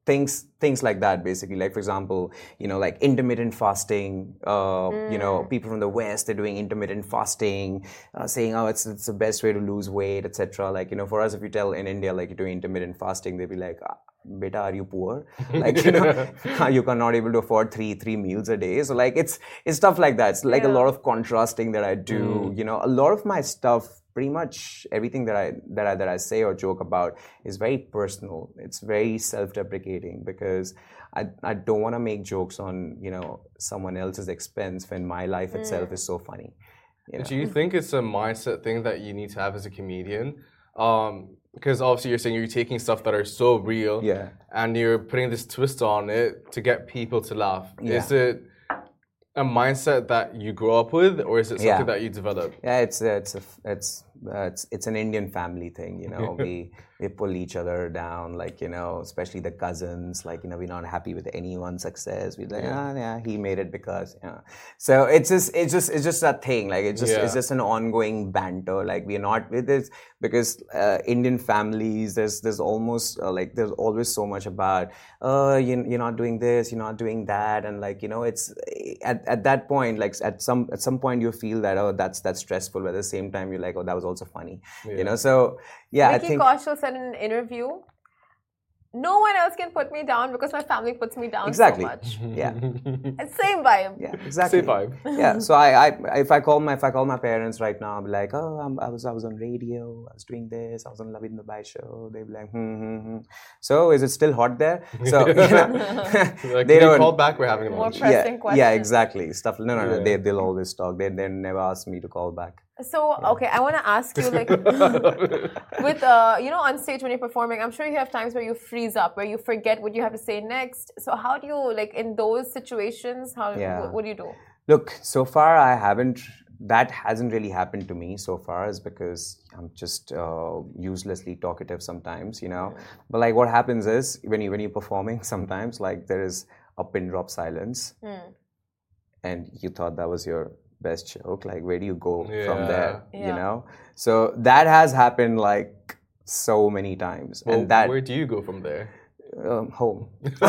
C: things things like that, basically. Like, for example, you know, like intermittent fasting. Uh, mm. You know, people from the West, they're doing intermittent fasting, uh, saying, "Oh, it's it's the best way to lose weight, et cetera" Like, you know, for us, if you tell in India, like, you're doing intermittent fasting, they'll be like, ah, "Beta, are you poor? Like, you know, you are not able to afford three three meals a day." So, like, it's it's stuff like that. It's like yeah. a lot of contrasting that I do. Mm. You know, a lot of my stuff. Pretty much everything that I that I that I say or joke about is very personal. It's very self-deprecating because I I don't want to make jokes on, you know, someone else's expense when my life mm. itself is so funny. You know?
B: Do you think it's a mindset thing that you need to have as a comedian? Um, because obviously you're saying you're taking stuff that are so real,
C: yeah,
B: and you're putting this twist on it to get people to laugh.
C: Yeah.
B: Is it a mindset that you grow up with, or is it something
C: yeah.
B: that you develop?
C: Yeah, it's it's a, it's uh, it's it's an Indian family thing, you know. we we pull each other down, like, you know, especially the cousins. Like, you know, we're not happy with anyone's success. We're like, ah, yeah, he made it because, you know. So it's just it's just it's just that thing. Like, it's just yeah. it's just an ongoing banter. Like, we're not with this because uh, Indian families, there's there's almost uh, like there's always so much about, oh, you, you're not doing this, you're not doing that, and like, you know, it's at at that point, like at some at some point you feel that, oh, that's that's stressful, but at the same time you're like, oh, that was also funny, yeah. you know. So yeah,
A: Vicky
C: I think
A: Kaushal said in an interview, no one else can put me down because my family puts me down
C: exactly.
A: so much.
C: Yeah,
A: it's same vibe.
C: Yeah, exactly.
B: Same vibe.
C: Yeah. So I, I, if I call my, if I call my parents right now, I'll be like, oh, I'm, I was, I was on radio, I was doing this, I was on Lovin Dubai show. They'll be like, hmm, hmm, hmm. So is it still hot there? So you know,
B: like, they don't call back. We're having a
A: more
B: lunch.
A: pressing
C: yeah,
A: questions.
C: Yeah, exactly. Stuff. No, no, no.
B: Yeah.
C: They, they'll always talk. They, they never ask me to call back.
A: So, okay, I want to ask you, like, with, uh, you know, on stage when you're performing, I'm sure you have times where you freeze up, where you forget what you have to say next. So how do you, like, in those situations, how
C: yeah.
A: what, what do you do?
C: Look, so far I haven't, that hasn't really happened to me so far, is because I'm just uh, uselessly talkative sometimes, you know. Mm. But, like, what happens is, when, you, when you're performing, sometimes, like, there is a pin drop silence. Mm. And you thought that was your best joke, like, where do you go yeah. from there,
A: yeah.
C: you know? So that has happened like so many times.
B: Well,
C: and that
B: where do you go from there?
C: Um, home.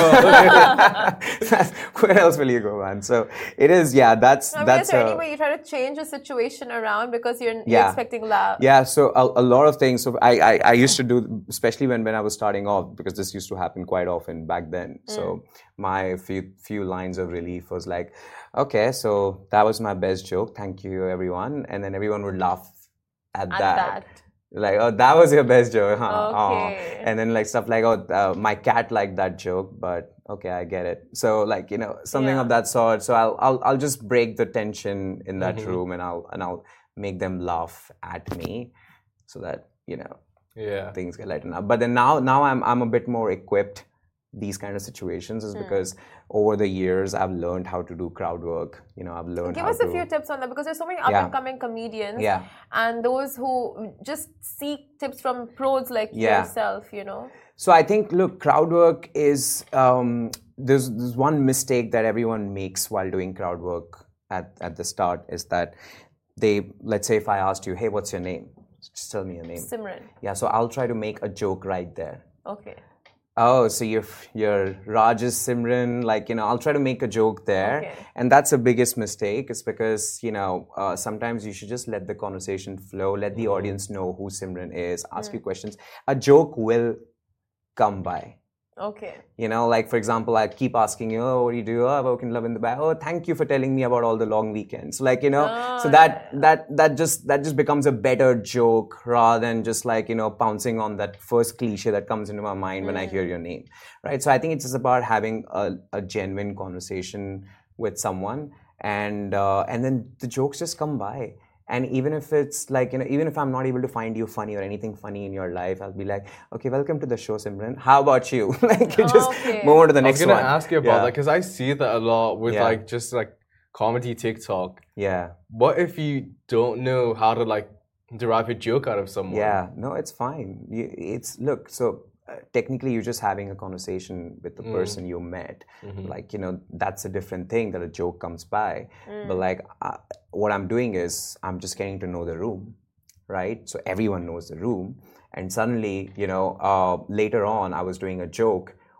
C: Where else will you go, man? So it is, yeah, that's
A: I mean,
C: that's
A: is there
C: uh,
A: any way you try to change the situation around because you're,
C: yeah.
A: you're expecting love?
C: Yeah, so a, a lot of things. So I, I I used to do, especially when when I was starting off, because this used to happen quite often back then. Mm. So my few few lines of relief was like, okay, so that was my best joke. Thank you, everyone, and then everyone would laugh at,
A: at
C: that.
A: that.
C: Like, oh, that was your best joke, huh?
A: Okay.
C: Oh. And then, like, stuff like, oh, uh, my cat liked that joke, but okay, I get it. So, like, you know, something yeah. of that sort. So I'll, I'll, I'll just break the tension in that mm-hmm. room, and I'll, and I'll make them laugh at me, so that, you know,
B: yeah,
C: things get lightened up. But then now, now I'm, I'm a bit more equipped. These kind of situations is mm. because over the years I've learned how to do crowd work. You know, I've learned.
A: Give
C: how
A: us
C: to...
A: a few tips on that, because there's so many up
C: yeah.
A: and coming comedians,
C: yeah.
A: and those who just seek tips from pros like
C: yeah.
A: yourself. You know.
C: So I think, look, crowd work is um, there's there's one mistake that everyone makes while doing crowd work at at the start, is that they, let's say if I asked you, hey, what's your name? Just tell me your name.
A: Simran.
C: Yeah. So I'll try to make a joke right there.
A: Okay.
C: Oh, so you're, you're Raj's Simran, like, you know, I'll try to make a joke there.
A: Okay.
C: And that's the biggest mistake. It's because, you know, uh, sometimes you should just let the conversation flow, let the audience know who Simran is, ask mm. you questions. A joke will come by.
A: Okay.
C: You know, like, for example, I keep asking you, oh, what do you do? Oh, I work in Lovin Dubai. Oh, thank you for telling me about all the long weekends. Like, you know, oh, so that, yeah. that, that just, that just becomes a better joke rather than just like, you know, pouncing on that first cliche that comes into my mind mm. when I hear your name. Right. So I think it's just about having a, a genuine conversation with someone, and, uh, and then the jokes just come by. And even if it's like, you know, even if I'm not able to find you funny or anything funny in your life, I'll be like, okay, welcome to the show, Simran. How about you? Like, you just
A: okay.
C: move on to the next one.
B: I was going to ask you about
C: yeah.
B: that, because I see that a lot with
C: yeah.
B: like just like comedy TikTok.
C: Yeah.
B: What if you don't know how to like derive a joke out of someone?
C: Yeah. No, it's fine. It's, look, so uh, technically you're just having a conversation with the mm. person you met. Mm-hmm. Like, you know, that's a different thing that a joke comes by. Mm. But like, uh, what I'm doing is I'm just getting to know the room, right? So everyone knows the room. And suddenly, you know, uh, later on, I was doing a joke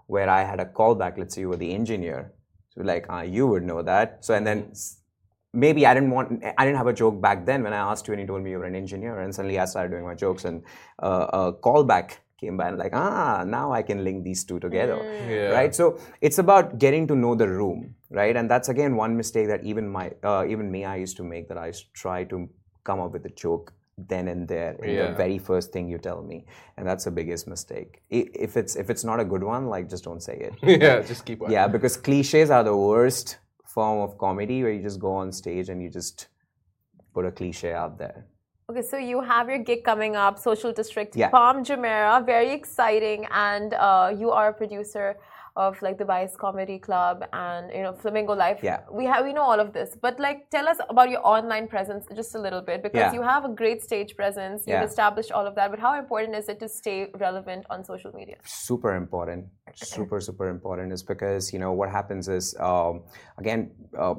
C: where I had a callback. Let's say you were the engineer. So like, uh, you would know that. So, and then maybe I didn't want, I didn't have a joke back then when I asked you and you told me you were an engineer, and suddenly I started doing my jokes, and uh, a callback came by and like, ah, now I can link these two together,
A: Mm.
B: Yeah.
C: right? So it's about getting to know the room, right? And that's again one mistake that even my, uh, even me, I used to make, that I used to try to come up with a joke then and there in
B: Yeah.
C: the very first thing you tell me, and that's the biggest mistake. I- If it's if it's not a good one, like just don't say it.
B: Yeah, just keep on.
C: Yeah, because cliches are the worst form of comedy, where you just go on stage and you just put a cliche out there.
A: Okay, so you have your gig coming up, Social District,
C: Yeah.
A: Palm Jumeirah, very exciting, and uh, you are a producer of like the Vice Comedy Club and you know Flamingo Life.
C: Yeah.
A: we have we know all of this, but like tell us about your online presence just a little bit, because
C: Yeah.
A: you have a great stage presence. You've
C: Yeah.
A: established all of that, but how important is it to stay relevant on social media?
C: Super important, super super important, is because you know what happens is um, again. Uh,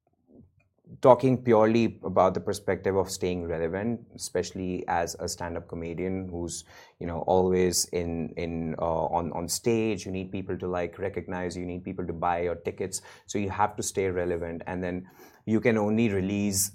C: Talking purely about the perspective of staying relevant, especially as a stand-up comedian who's you know always in in uh, on on stage, you need people to like recognize, you need people to buy your tickets, so you have to stay relevant, and then you can only release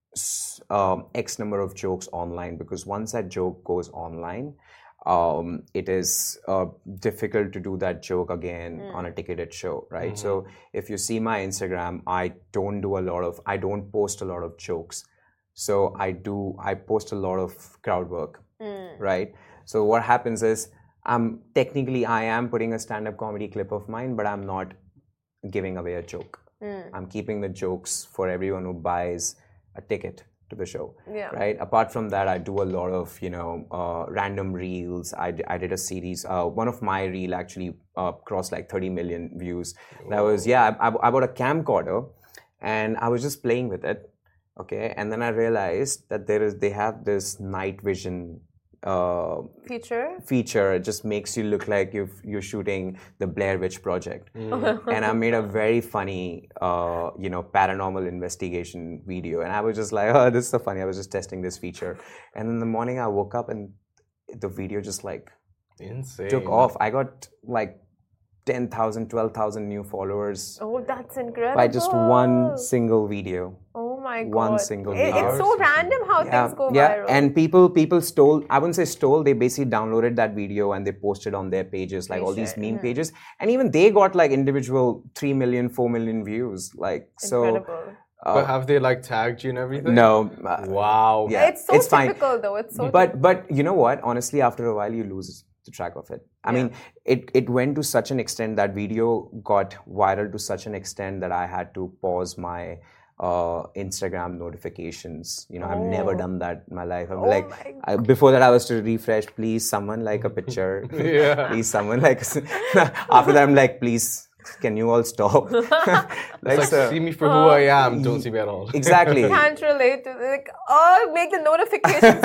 C: um, X number of jokes online, because once that joke goes online, um, it is uh, difficult to do that joke again
A: Mm.
C: on a ticketed show, right?
B: Mhm.
C: So if you see my Instagram, I don't do a lot of, I don't post a lot of jokes. So I do, I post a lot of crowd work,
A: Mm.
C: right? So what happens is, I'm technically, I am putting a stand-up comedy clip of mine, but I'm not giving away a joke.
A: Mm.
C: I'm keeping the jokes for everyone who buys a ticket to the show,
A: Yeah.
C: right? Apart from that, I do a lot of, you know, uh, random reels. I, d- I did a series. Uh, one of my reel actually uh, crossed like thirty million views. That was, yeah, I, I bought a camcorder and I was just playing with it, okay? And then I realized that there is, they have this night vision uh,
A: Feature.
C: feature. It just makes you look like you've, you're shooting the Blair Witch Project.
B: Mm.
C: And I made a very funny, uh, you know, paranormal investigation video. And I was just like, oh, this is so funny. I was just testing this feature. And in the morning I woke up and the video just like
B: Insane.
C: took off. I got like ten thousand, twelve thousand new followers
A: Oh, that's incredible.
C: by just one single video.
A: Oh my god.
C: one single
A: It-
C: video.
A: It's so random how things go
C: yeah.
A: viral.
C: And people people stole, I wouldn't say stole, they basically downloaded that video and they posted on their pages, like all these
A: Appreciate,
C: meme
A: mhm.
C: pages. And even they got like individual three million, four million views. Like, so.
A: Incredible.
B: But
C: Uh,
B: have they like tagged you and everything?
C: no. uh,
B: Wow.
C: Yeah,
A: it's so
C: it's fine.
A: typical though. It's so
C: But but you know what? Honestly, after a while, you lose the track of it. I
A: Yeah.
C: mean, it it went to such an extent, that video got viral to such an extent that I had to pause my uh, Instagram notifications. You know, I've never
A: Oh.
C: done that in my life. I'm
A: Oh
C: like,
A: my
C: I, before that, I was to refresh. Please, someone like a picture.
B: Yeah.
C: Please, someone like. After that, I'm like, please, can you all stop?
B: It's like,
C: so-
B: see me for who I am, don't see me at all.
C: exactly.
A: can't relate to like oh make the notification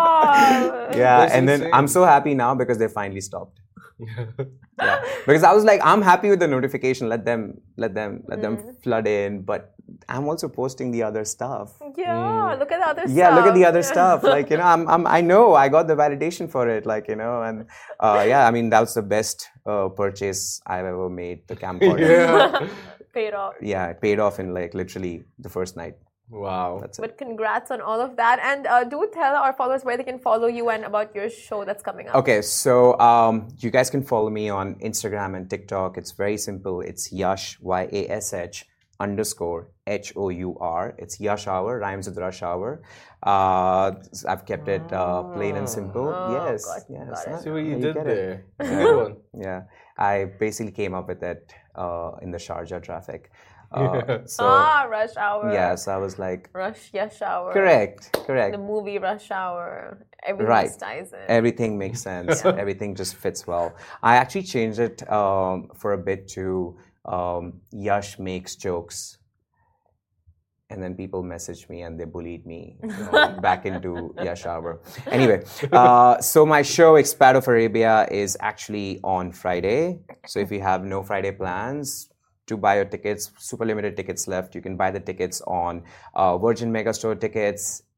A: stop.
C: Yeah,
B: That's
C: and then
B: insane.
C: I'm so happy now because they finally stopped. Yeah, because I was like, I'm happy with the notification. Let them, let them, let them flood in. But I'm also posting the other stuff.
A: Yeah, look at the other stuff.
C: Yeah, look at the other stuff. Like, you know, I'm, I'm, I know I got the validation for it. Like, you know, and uh, yeah, I mean, that was the best uh, purchase I've ever made. The camcorder.
B: Yeah.
A: Paid off.
C: Yeah, it paid off in like literally the first night.
B: Wow.
C: That's it.
A: But congrats on all of that. And uh, do tell our followers where they can follow you and about your show that's coming up.
C: Okay, so um, you guys can follow me on Instagram and TikTok. It's very simple. It's Yash, Y A S H underscore H O U R. It's Yash Hour, rhymes with Rush Hour. Uh, I've kept it uh, plain and simple.
A: Oh,
C: yes,
A: got-
C: yes.
A: got it.
C: huh?
B: See what you
C: Yeah,
B: did
C: get it.
B: there. It's a good one.
C: Yeah, I basically came up with it uh, in the Sharjah traffic. Uh,
B: Yeah.
C: so,
A: ah, Rush Hour.
C: yes, I was like,
A: Rush Yash Hour.
C: correct,
A: The
C: correct.
A: movie Rush Hour. Everything
C: Right.
A: just ties in.
C: Everything makes sense. Everything just fits well. I actually changed it um, for a bit to um, Yash makes jokes. And then people messaged me and they bullied me you know, back into Yash Hour. Anyway, uh, so my show Expat of Arabia is actually on Friday. So if you have no Friday plans, to buy your tickets, super limited tickets left. You can buy the tickets on uh, Virgin Megastore tickets,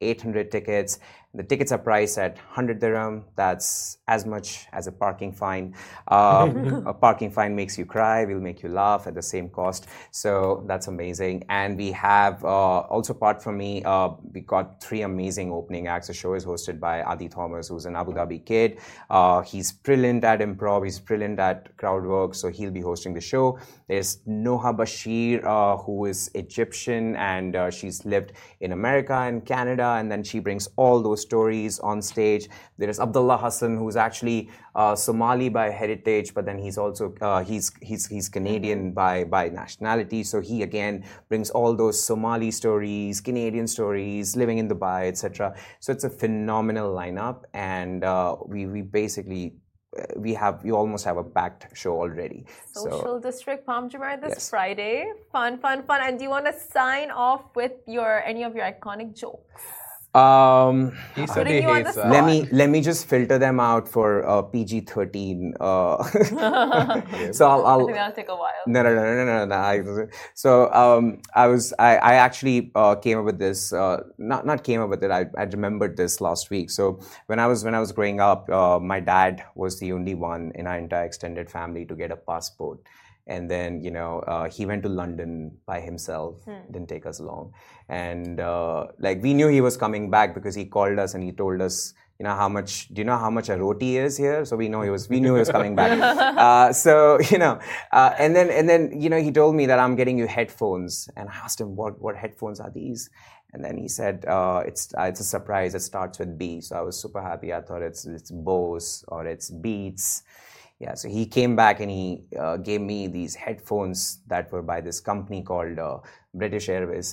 C: eight hundred tickets. The tickets are priced at one hundred dirham. That's as much as a parking fine. Um, a parking fine makes you cry, will make you laugh at the same cost. So that's amazing. And we have, uh, also apart from me, uh, we got three amazing opening acts. The show is hosted by Adi Thomas, who's an Abu Dhabi kid. Uh, he's brilliant at improv. He's brilliant at crowd work. So he'll be hosting the show. There's Noha Bashir, uh, who is Egyptian, and uh, she's lived in America and Canada, and then she brings all those stories on stage. There is Abdullah Hassan, who's actually uh, Somali by heritage, but then he's also uh, he's he's he's Canadian by by nationality. So he again brings all those Somali stories, Canadian stories, living in Dubai, et cetera. So it's a phenomenal lineup, and uh, we we basically. We have, we almost have a packed show already.
A: Social
C: so,
A: District Palm Jumeirah this
C: yes.
A: Friday. Fun, fun, fun. And do you want to sign off with your any of your iconic jokes?
C: Um,
B: he said he hates that.
C: Let me let me just filter them out for uh, P G thirteen. Uh, so I'll, I'll.
A: I think that'll take a while.
C: No, no, no, no, no, no. I, so um, I was, I, I actually uh, came up with this. Uh, not not came up with it. I, I remembered this last week. So when I was when I was growing up, uh, my dad was the only one in our entire extended family to get a passport. And then, you know, uh, he went to London by himself. Hmm. Didn't take us long. And uh, like we knew he was coming back because he called us and he told us, you know, how much, do you know how much a roti is here? So we know he was, we knew he was coming back. uh, so, you know, uh, and then, and then, you know, he told me that I'm getting you headphones. And I asked him, what, what headphones are these? And then he said, uh, it's uh, it's a surprise. It starts with B. So I was super happy. I thought it's, it's Bose or it's Beats. Yeah, so he came back and he uh, gave me these headphones that were by this company called uh, British Airways.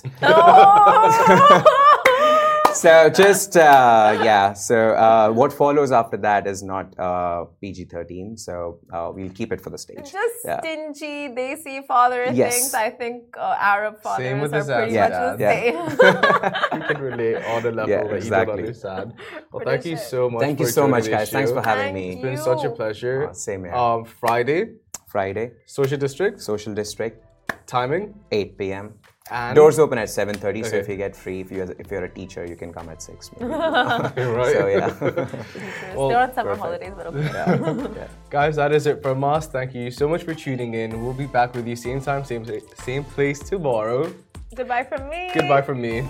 A: Oh!
C: So just, uh, yeah, so uh, what follows after that is not uh, P G thirteen, so uh, we'll keep it for the stage.
A: Just
C: yeah.
A: stingy, desi father
C: yes.
A: things. I think uh, Arab fathers
B: same with
A: are pretty
C: yeah.
A: much the
C: yeah.
A: same.
B: You can relate on the level
C: yeah,
B: that
C: exactly.
B: you don't understand. Well, thank you so much
C: Thank
B: for
C: you so much, guys.
B: Show.
C: Thanks for having
A: thank
C: me.
B: It's been
A: you.
B: such a pleasure.
C: Uh, same here.
B: Um, Friday,
C: Friday,
B: Social District,
C: Social District,
B: timing,
C: eight p.m.
B: And
C: doors open at seven thirty, okay. So if you get free, if you're if you're a teacher, you can come at six.
B: right.
C: So yeah.
A: Well, they're on summer perfect. holidays, but okay.
C: Yeah. Yeah.
B: Guys, that is it from us. Thank you so much for tuning in. We'll be back with you same time, same same place tomorrow.
A: Goodbye from me.
B: Goodbye from me.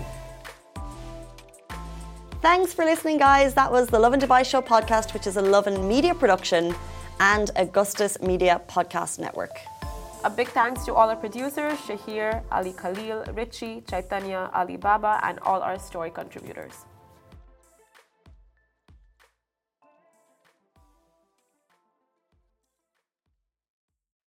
D: Thanks for listening, guys. That was the Lovin Dubai Show podcast, which is a Lovin Media production and Augustus Media Podcast Network.
A: A big thanks to all our producers, Shahir, Ali Khalil, Richie, Chaitanya, Ali Baba, and all our story contributors.